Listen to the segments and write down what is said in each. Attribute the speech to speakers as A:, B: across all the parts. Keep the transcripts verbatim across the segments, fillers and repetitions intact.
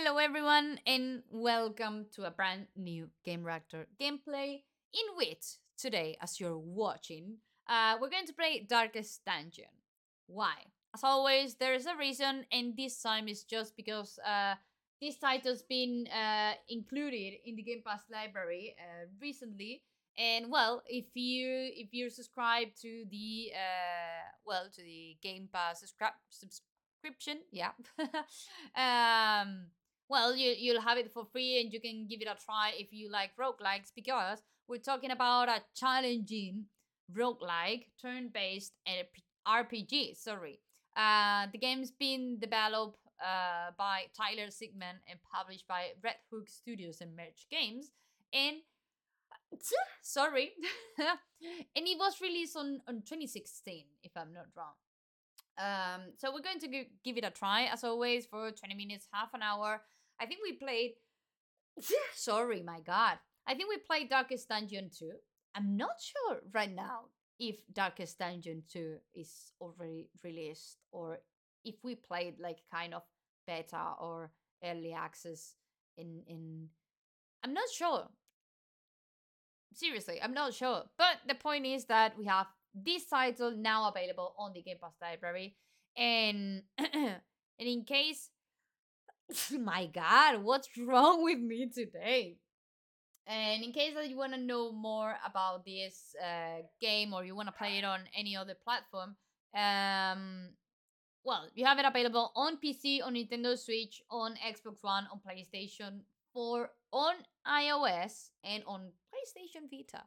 A: Hello, everyone, and welcome to a brand new Game Reactor gameplay. In which today, as you're watching, uh, we're going to play Darkest Dungeon. Why? As always, there is a reason, and this time is just because uh, this title's been uh, included in the Game Pass library uh, recently. And well, if you if you're subscribed to the uh, well to the Game Pass subscri- subscription, yeah. um well, you, you'll have it for free and you can give it a try if you like roguelikes because we're talking about a challenging roguelike, turn-based and R P G, sorry. Uh, the game's been developed uh, by Tyler Sigman and published by Red Hook Studios and Merge Games. And sorry. And it was released on, on twenty sixteen, if I'm not wrong. Um, so we're going to g- give it a try, as always, for twenty minutes, half an hour. I think we played. Sorry, my God. I think we played Darkest Dungeon two. I'm not sure right now if Darkest Dungeon two is already released or if we played like kind of beta or early access in in I'm not sure. Seriously, I'm not sure. But the point is that we have this title now available on the Game Pass library. And and in case my God, what's wrong with me today? And in case that you want to know more about this uh, game or you want to play it on any other platform, um, well, you have it available on P C, on Nintendo Switch, on Xbox One, on PlayStation four, on iOS, and on PlayStation Vita.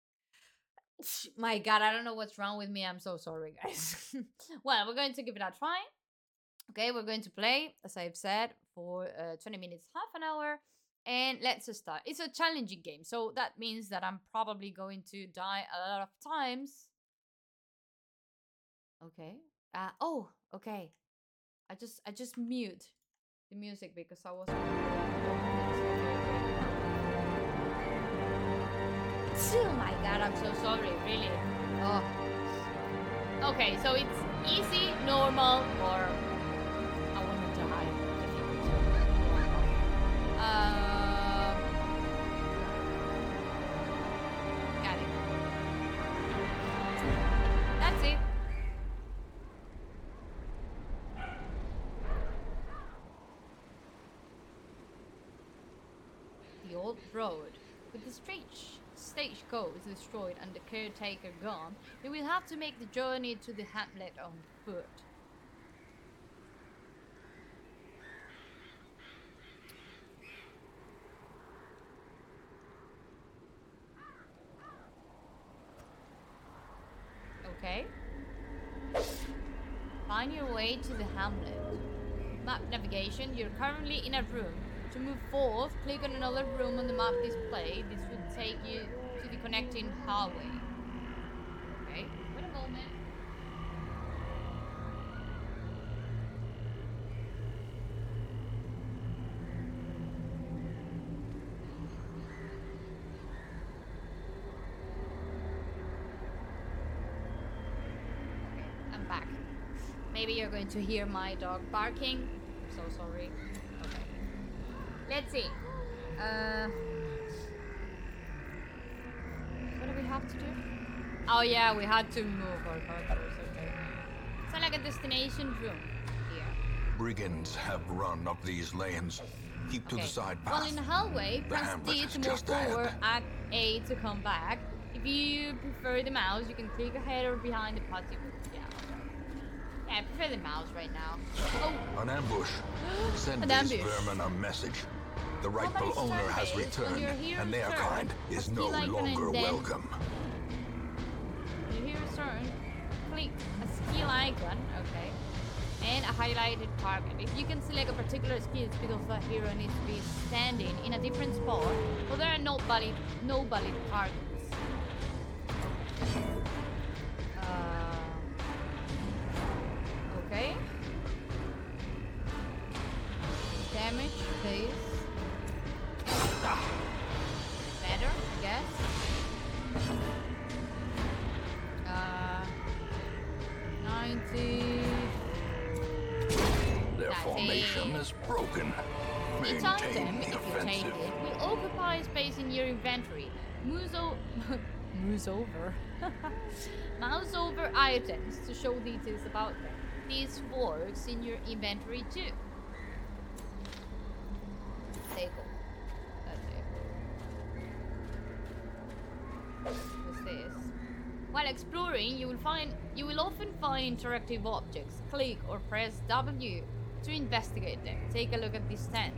A: My God, I don't know what's wrong with me. I'm so sorry, guys. Well, we're going to give it a try. Okay, we're going to play, as I've said, for uh, twenty minutes, half an hour. And let's start. It's a challenging game, so that means that I'm probably going to die a lot of times. Okay. Uh, oh, okay. I just I just mute the music because I was. Oh my God, I'm so sorry, really. Oh. Okay, so it's easy, normal, or I want to die. Uh, got it. That's it. The old road. With the stage, stagecoach destroyed and the caretaker gone, we will have to make the journey to the hamlet on foot. Okay. Find your way to the hamlet. Map navigation, you're currently in a room. To move forth, click on another room on the map display. This will take you to the connecting hallway. Okay, wait a moment. Okay, I'm back. Maybe you're going to hear my dog barking. I'm so sorry. Okay. Let's see. Uh, what do we have to do? Oh yeah, we had to move our characters. Okay. It's like a destination room here.
B: Brigands have run up these lanes. Keep to
A: Okay.
B: the side path.
A: Well, in the hallway,
B: The
A: press
B: hamlet
A: D
B: is
A: to move
B: just
A: forward,
B: ahead.
A: add A to come back. If you prefer the mouse, you can click ahead or behind the party. Yeah. Yeah, I prefer the mouse right now. Oh,
B: An ambush. Send
A: An
B: these
A: ambush.
B: vermin a message. The rightful
A: it's
B: owner has
A: turn-based. When
B: returned,
A: you're here
B: and
A: to
B: their
A: turn,
B: kind is
A: a
B: no
A: skill icon
B: longer
A: and then-
B: welcome.
A: you hear a turn, click a skill icon, okay, and a highlighted target. If you can select a particular skill, it's because the hero needs to be standing in a different spot, or there are no valid, no valid targets. Uh, okay. Damage, please. Better, I guess. Uh, ninety.
B: Their
A: That's
B: formation
A: it.
B: is broken.
A: Each
B: Maintain
A: item,
B: the
A: if you take
B: offensive.
A: it, will occupy space in your inventory. Moose, o Moose over. Mouse over items to show details about them. This works in your inventory too. There you go. That's it. What's this? While exploring, you will find you will often find interactive objects. Click or press W to investigate them. Take a look at this tent.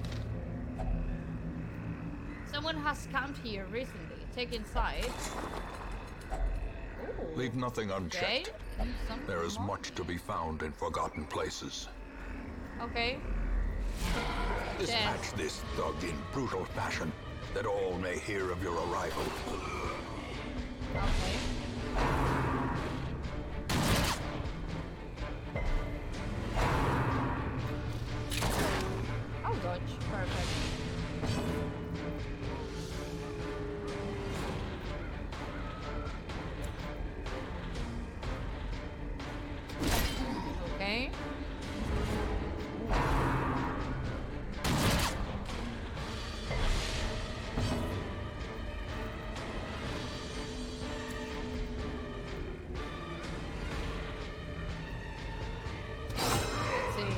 A: Someone has camped here recently. Take inside. Ooh.
B: Leave nothing unchecked.
A: Okay. Mm,
B: There is
A: more.
B: much to be found in forgotten places.
A: Okay.
B: Dispatch this thug in brutal fashion, that all may hear of your arrival.
A: Okay. Oh, dodge. Perfect. Okay. Let's see.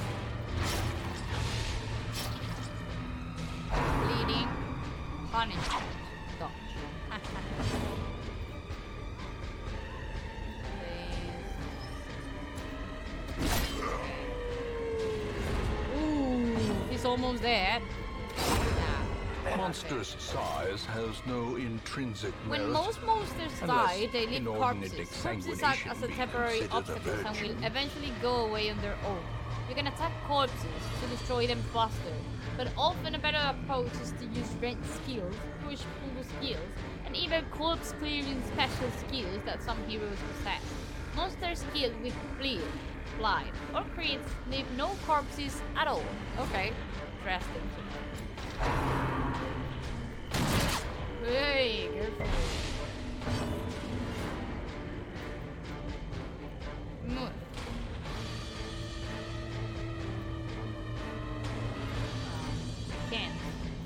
A: Bleeding. Punishment. Dodge. Ooh, he's almost there. Nah.
B: Monster's size has no intrinsic
A: When
B: merit.
A: most monsters
B: Unless
A: die, they leave
B: inordinate
A: corpses. Corpses act as a
B: exsanguination be
A: temporary
B: considered a
A: obstacle and will
B: virtue.
A: eventually go away on their own. You can attack corpses to destroy them faster, but often a better approach is to use rend skills, push pull skills, and even corpse clearing special skills that some heroes possess. Monsters killed with bleed, blind, or crits leave no corpses at all. Okay, interesting. Hey, careful. Move. Can't.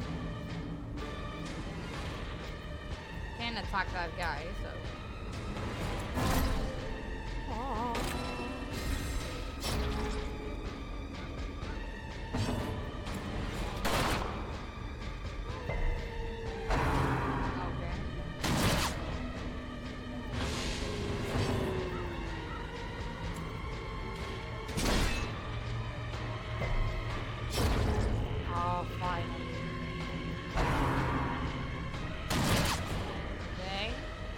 A: Can't attack that guy, so. Oh, finally. Okay.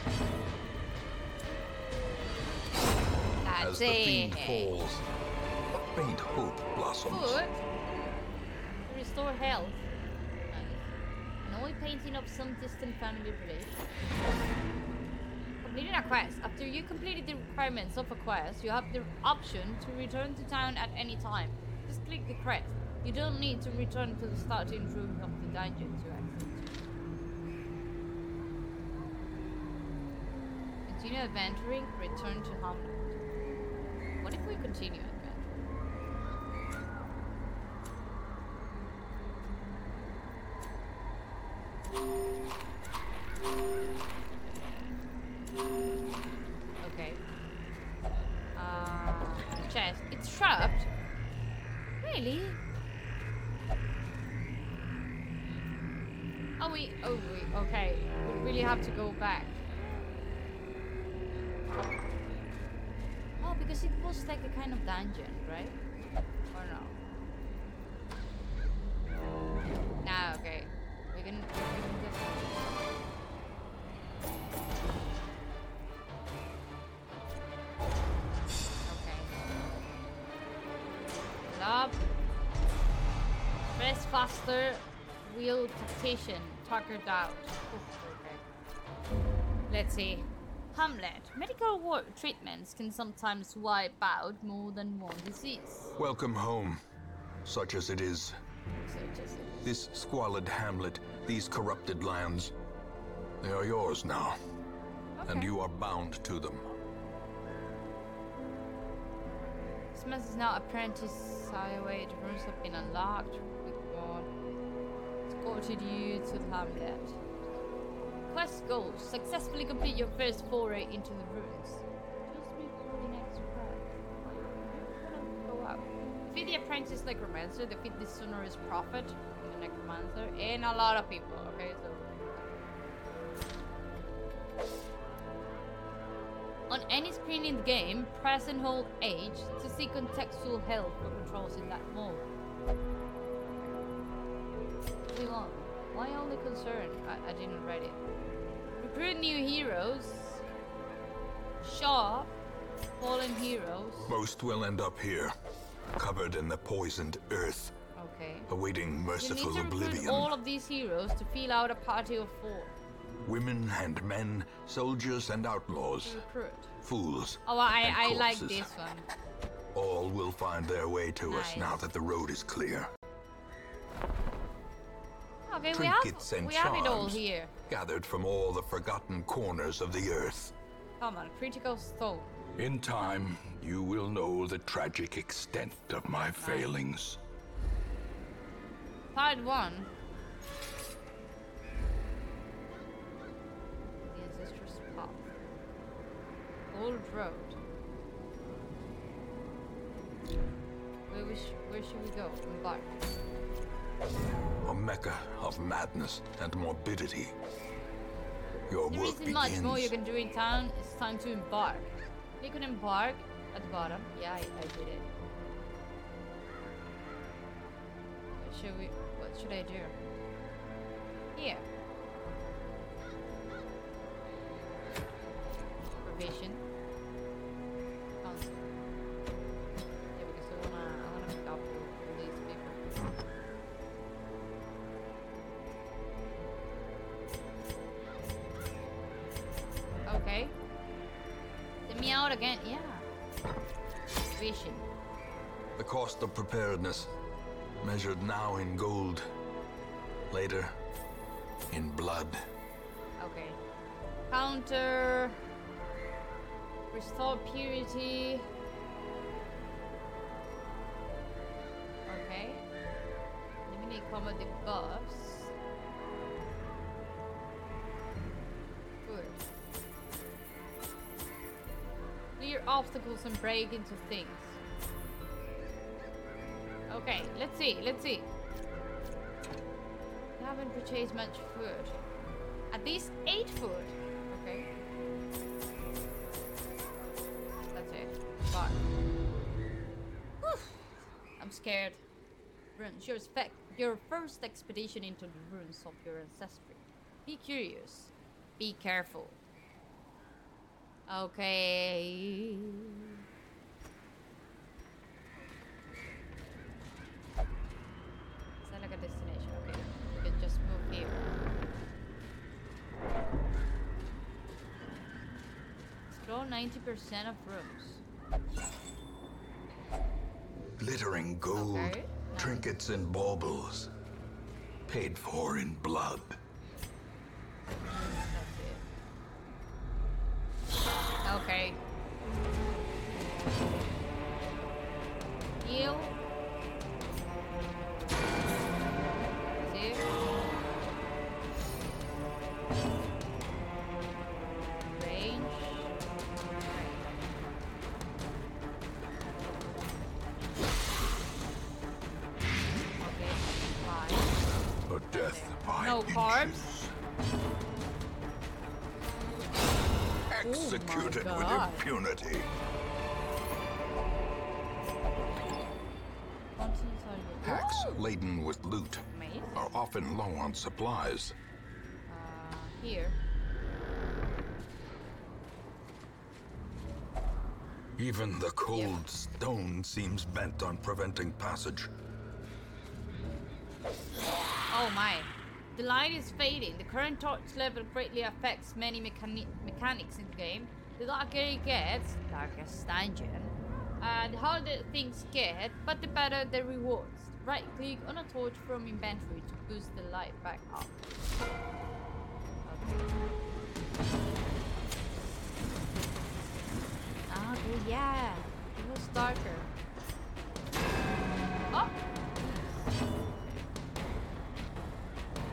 A: That's
B: As the fiend
A: it.
B: falls, a faint hope blossoms.
A: Food. To restore health. Nice. An oil painting of some distant family relation. Completing a quest. After you completed the requirements of a quest, you have the option to return to town at any time. Just click the quest. You don't need to return to the starting room of the dungeon to exit. Continue adventuring, return to Hamlet. What if we continue adventuring? Okay. Uh, chest. It's trapped. Really? Oh, we. Oh, we. Okay. We really have to go back. Oh, because it was like a kind of dungeon, right? Or no? Nah, okay. We can. We can just. Okay. Up. Press faster. Wheel tactician. Tuckered out. Oof, okay. Let's see. Hamlet. Medical war treatments can sometimes wipe out more than one disease.
B: Welcome home, such as it is.
A: So just
B: This squalid hamlet, these corrupted lands, they are yours now, and
A: Okay.
B: you are bound to them.
A: This mess is now apprentice highway. The rooms have been unlocked. Good God. transported you to the hamlet. Quest goals. Successfully complete your first foray into the ruins. Just before the next quest. You're gonna go out. Defeat the apprentice necromancer. Defeat the sonorous prophet and the necromancer. And a lot of people. Okay, so. On any screen in the game, press and hold H to see contextual help for controls in that mode. Too long. Why only concern? I, I didn't read it. Recruit new heroes. Shop. Fallen heroes.
B: Most will end up here, covered in the poisoned earth,
A: Okay.
B: awaiting merciful
A: You need to recruit
B: oblivion.
A: all of these heroes to fill out a party of four.
B: Women and men, soldiers and outlaws,
A: Recruit.
B: fools.
A: Oh, I,
B: and
A: I like
B: corpses.
A: this one.
B: All will find their way to us
A: Nice.
B: now that the road is clear.
A: Okay, we have,
B: Trinkets and
A: we have it all
B: charms.
A: here.
B: Gathered from all the forgotten corners of the earth.
A: Come on, critical stone.
B: In time, you will know the tragic extent of my failings.
A: Part one. The ancestors' path. Old road. Where, we sh where should we go? Embark.
B: A mecca of madness and morbidity. Your
A: There
B: work
A: isn't much
B: begins.
A: more you can do in town. It's time to embark. Click on embark at the bottom. Yeah, I, I did it. What should we? What should I do? Here. Provision. Console. Yeah, because I wanna, I wanna pick up all these people. Okay. Let me out again. Yeah. Vision.
B: The cost of preparedness, measured now in gold, later in blood.
A: Okay. Counter. Restore purity. Okay. Eliminate combat debuffs. Good. Clear obstacles and break into things. Okay, let's see, let's see. We haven't purchased much food. At least eight food. Okay. That's it. Bar. Whew. I'm scared. Runes. Your, spec your first expedition into the ruins of your ancestry. Be curious. Be careful. Okay. Is that like a destination? Okay. We can just move here. Explore ninety percent of rooms.
B: Glittering gold,
A: Okay.
B: trinkets and baubles, paid for in blood.
A: That's it. Okay. Heal. See? Range. Okay, fine.
B: A death by
A: No carbs?
B: inches. Executed with
A: God.
B: impunity. Packs laden with loot
A: Amazing.
B: are often low on supplies.
A: Uh, here.
B: Even the cold stone seems bent on preventing passage.
A: Oh my. The light is fading. The current torch level greatly affects many mechani mechanics in the game. The darker it gets, darkest dungeon, uh, the harder things get, but the better the rewards. Right click on a torch from inventory to boost the light back up. Okay. Okay, yeah. It was darker. Oh!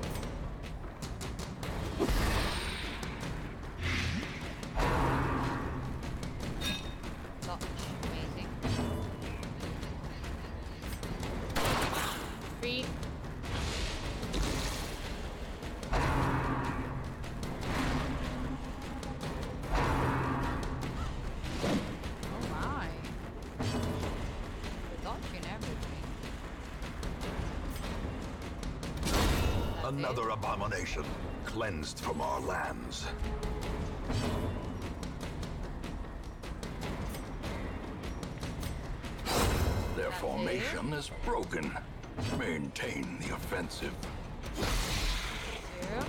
A: tree. Oh my. We're dodging everything. That's
B: Another
A: it.
B: abomination cleansed from our lands. Their
A: That's
B: formation is broken. Maintain the offensive.
A: Here.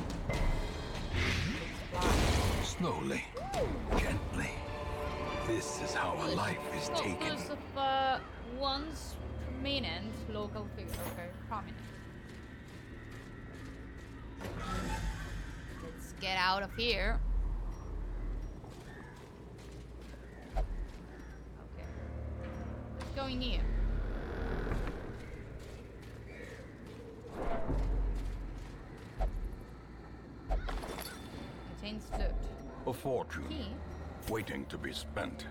B: Slowly, gently. This is how a life is taken.
A: Focus of uh, once prominent local figure. Okay, prominent. Let's get out of here. Okay. Let's go in here. Contains loot.
B: A fortune
A: Key.
B: waiting to be spent.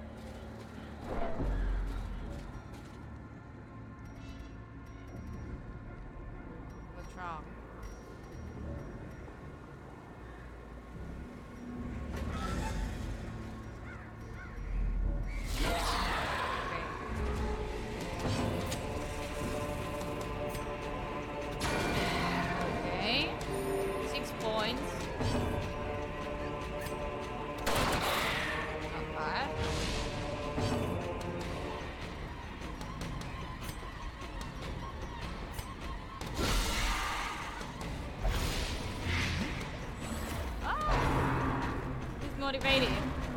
A: What's wrong? Okay. Six points. Not bad. Ah! He's motivated.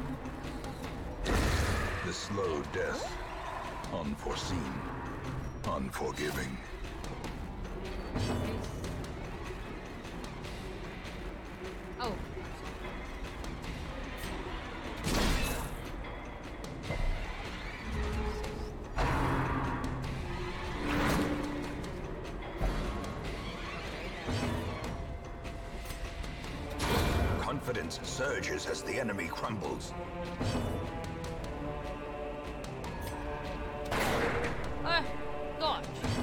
B: The slow death. Unforeseen. Unforgiving.
A: Oh.
B: Confidence surges as the enemy crumbles.
A: Ah, dodge.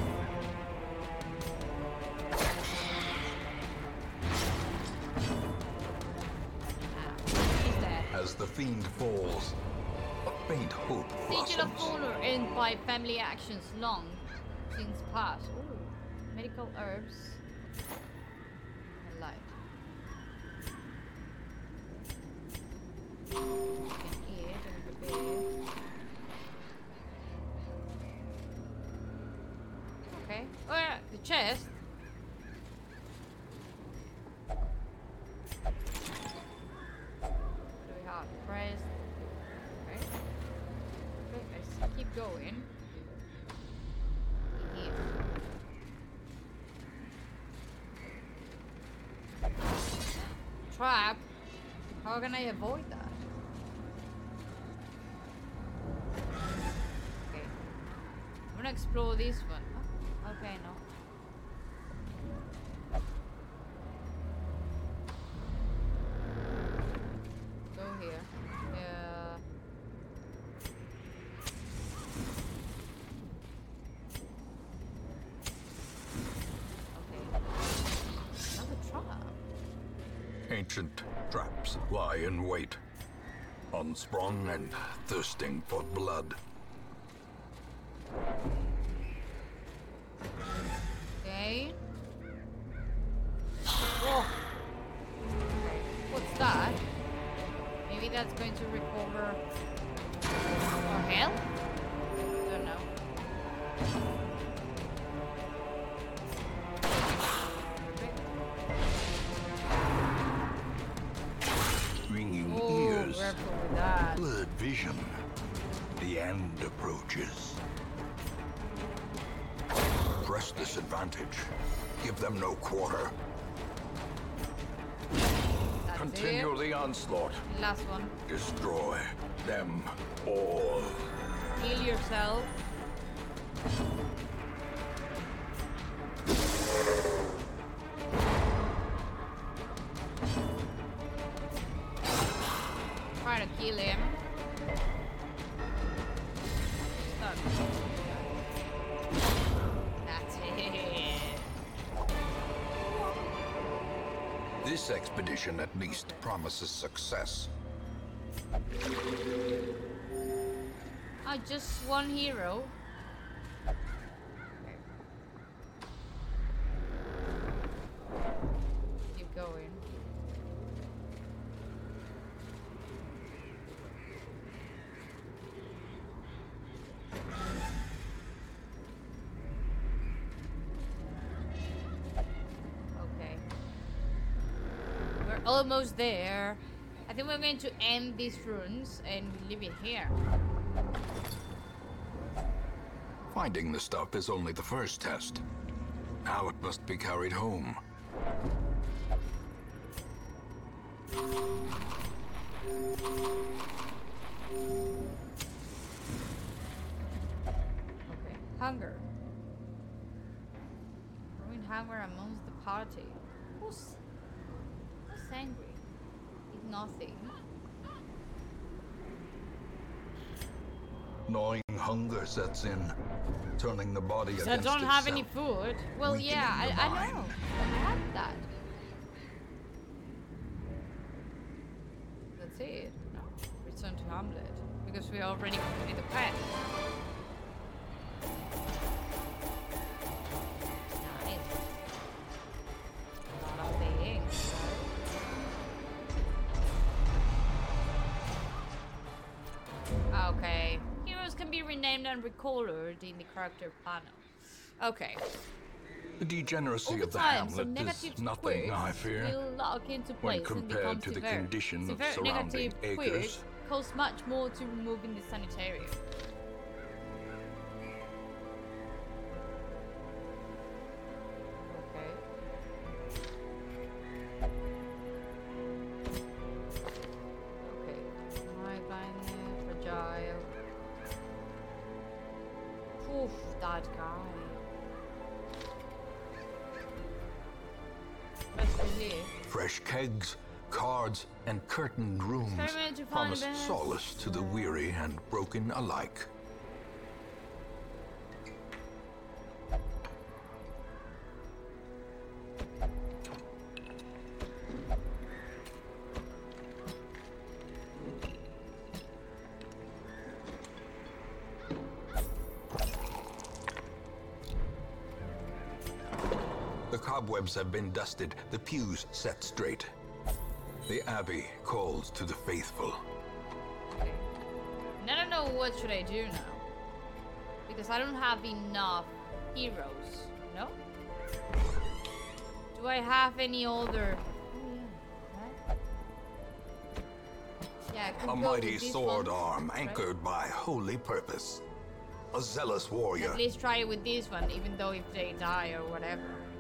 A: He's dead.
B: As the fiend falls, a faint hope
A: Sigil of
B: blossoms.
A: honor earned by family actions long since past. Ooh, medical herbs. And light. You can eat and prepare. Okay. Oh yeah, the chest. What do we have? Press. Okay. Okay, let's keep going. In here. Trap? How can I avoid that? Okay. I'm gonna explore this one. Oh, okay, no. Go here. Yeah. Okay. Another trap.
B: Ancient traps lie in wait. Unsprung and thirsting for blood.
A: Okay. Whoa. Okay. What's that? Maybe that's going to recover our health? Don't know.
B: Ringing
A: Oh,
B: ears.
A: careful with that.
B: Blurred vision. The end approaches. Press this advantage. Give them no quarter.
A: That's
B: Continue
A: it.
B: the onslaught.
A: Last one.
B: Destroy them all.
A: Heal yourself. Try to kill him. Stuck. That's it.
B: This expedition at least promises success.
A: Oh, just one hero. Keep going. Okay. We're almost there. I think we're going to end these runes and leave it here.
B: Finding the stuff is only the first test. Now it must be carried home.
A: Okay. Hunger. Growing hunger amongst the party. Who's, who's angry? Eat nothing.
B: Gnawing hunger sets in, turning the body against
A: So I don't have any
B: itself.
A: food. Well,
B: Weakening
A: yeah, I,
B: the
A: I
B: mind.
A: know. I have that. That's it. No. Return to Hamlet. Because we already completed the quest. Nice. A lot of things. Okay. Heroes can be renamed and recolored in the character panel. Okay.
B: The degeneracy
A: Over
B: of the
A: time, some
B: hamlet
A: negative
B: is nothing, I
A: quirks
B: fear.
A: will lock into
B: when
A: place and
B: compared
A: become
B: to the
A: severe.
B: condition of
A: Severe
B: surrounding
A: negative
B: acres.
A: quirks cost much more to remove in the sanitarium. Okay. Okay. My blindness, fragile. Oof, that guy. Best relief.
B: Fresh kegs, cards, and curtained rooms
A: Experiment to find
B: promise
A: the best.
B: solace to the weary and broken alike. The cobwebs have been dusted, the pews set straight. The abbey calls to the faithful.
A: Okay. And I don't know what should I do now. Because I don't have enough heroes. No? Do I have any other... Oh, yeah. Right? Yeah, I could
B: A
A: go
B: mighty
A: with these
B: sword
A: ones,
B: arm
A: right?
B: anchored by holy purpose. A zealous warrior.
A: At least try it with this one, even though if they die or whatever.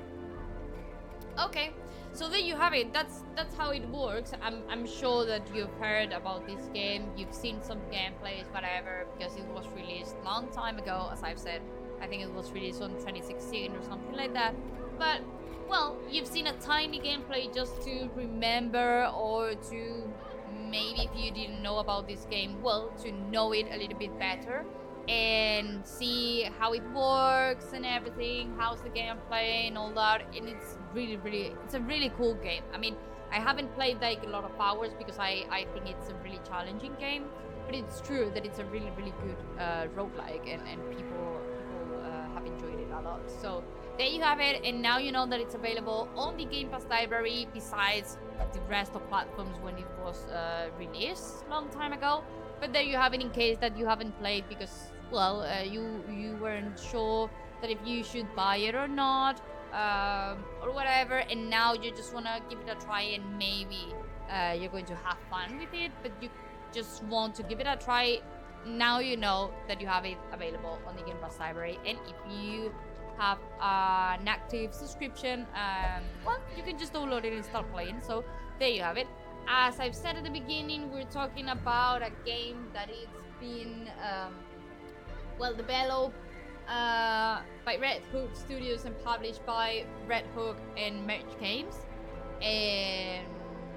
A: Okay, so there you have it. That's that's how it works. I'm I'm sure that you've heard about this game. You've seen some gameplays, whatever, because it was released long time ago. As I've said, I think it was released on twenty sixteen or something like that. But well, you've seen a tiny gameplay just to remember, or to maybe if you didn't know about this game, well, to know it a little bit better and see how it works and everything, how's the gameplay and all that. And it's really really it's a really cool game. I mean, I haven't played like a lot of hours because I I think it's a really challenging game, but it's true that it's a really really good uh roguelike, and, and people people uh, have enjoyed it a lot. So there you have it, and now you know that it's available on the Game Pass library besides the rest of platforms when it was uh, released long time ago. But there you have it in case that you haven't played because, well, uh, you you weren't sure that if you should buy it or not, um, or whatever, and now you just want to give it a try and maybe uh, you're going to have fun with it, but you just want to give it a try. Now you know that you have it available on the Game Pass library, and if you have uh, an active subscription, um, well, you can just download it and start playing. So there you have it. As I've said at the beginning, we're talking about a game that it's been, um, well, developed uh, by Red Hook Studios and published by Red Hook and Merge Games. And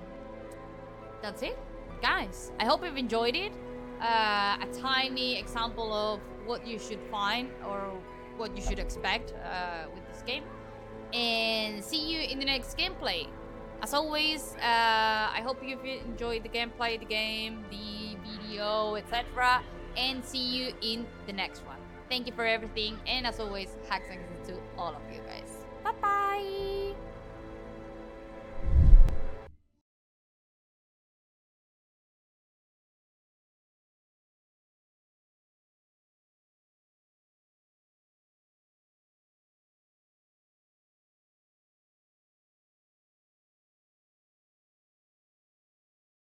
A: that's it, guys. I hope you've enjoyed it. Uh, a tiny example of what you should find or what you should expect uh, with this game. And see you in the next gameplay. As always, uh, I hope you've enjoyed the gameplay, the game, the video, et cetera. And see you in the next one. Thank you for everything. And as always, hacks and kisses to all of you guys. Bye-bye!